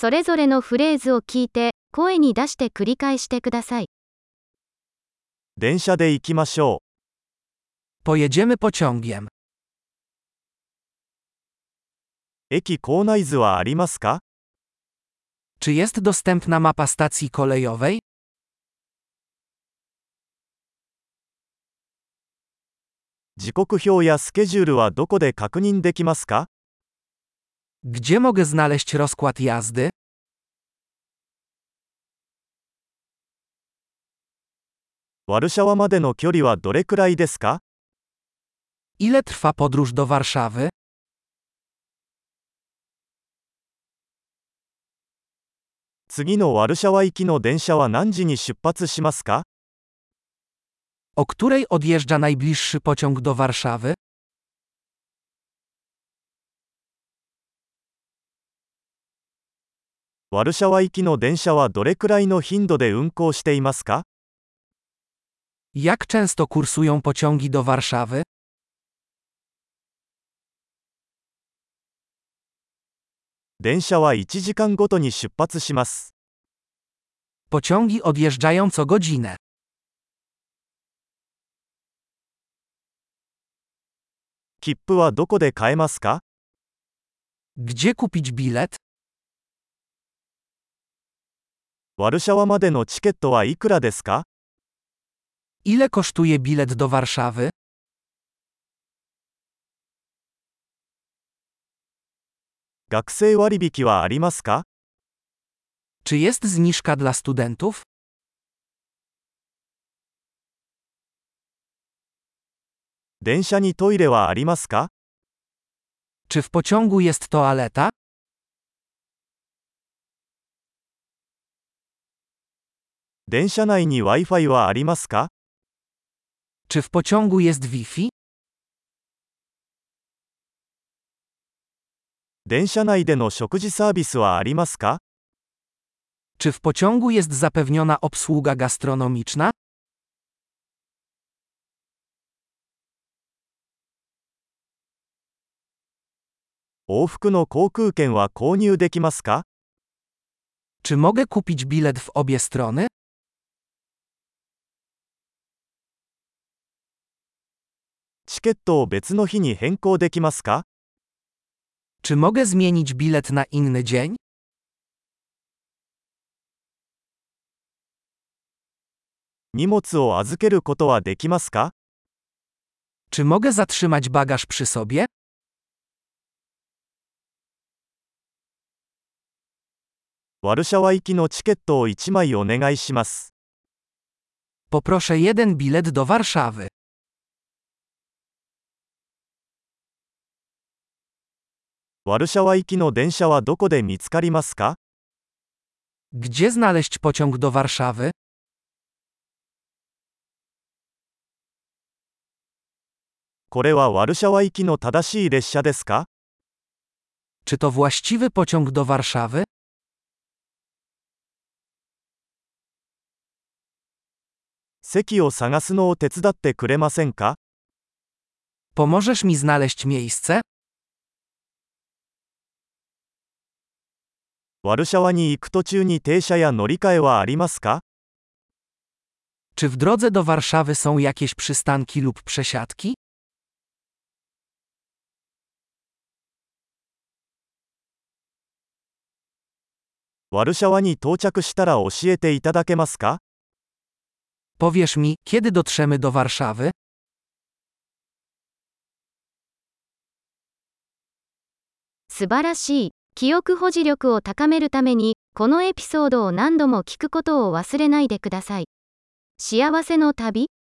それぞれのフレーズを聞いて、声に出して繰り返してください。 電車で行きましょ Pojedziemy pociągiem. う。駅構内図はありますか？ Czy jest dostępna mapa stacji kolejowej? 時刻表やスケジュールはどこで確認できますか？ Gdzie mogę znaleźć rozkład jazdy? ワルシャワまでの距離はどれくらいですか？ Ile trwa podróż do Warszawy? 次のワルシャワ行きの電車は何時に出発しますか？ O której odjeżdża najbliższy pociąg do Warszawy? ワルシャワ行きの電車はどれくらいの頻度で運行していますか？ Jak często kursują pociągi do Warszawy? 電車は1時間ごとに出発します。 Pociągi odjeżdżają co godzinę. 切符はどこで買えますか？ Gdzie kupić bilet? ワルシャワまでのチケットはいくらですか？ Ile kosztuje bilet do Warszawy? 学生割引はありますか？ Czy jest zniżka dla studentów? 電車にトイレはありますか？ Czy w pociągu jest toaleta? 電車内に Wi-Fi はありますか？ Czy w pociągu jest Wi-Fi? 電車内での食事サービスはありますか？ Czy w pociągu jest zapewniona obsługa gastronomiczna? 往復の航空券は購入できますか？ Czy mogę kupić bilet w obie strony? チケットを別の日に変更できますか？ Czy mogę zmienić bilet na inny dzień? 荷物を預けることはできますか？ Czy mogę zatrzymać bagaż przy sobie? ワルシャワ行きのチケットを1枚お願いします。 Poproszę jeden bilet do Warszawy. ワルシャワ行きの電車はどこで見つかりますか？ Gdzie znaleźć pociąg do Warszawy? これはワルシャワ行きの正しい列車ですか？ Czy to właściwy pociąg do Warszawy? 席を探すのを手伝ってくれませんか？ Pomożesz mi znaleźć miejsce? ワルシャワに行く途中に停車や乗り換えはありますか？ Czy w drodze do Warszawy są jakieś przystanki lub przesiadki? ワルシャワに到着したら教えていただけますか？ Powiesz mi, kiedy dotrzemy do Warszawy? 素晴らしい。記憶保持力を高めるために、このエピソードを何度も聞くことを忘れないでください。幸せの旅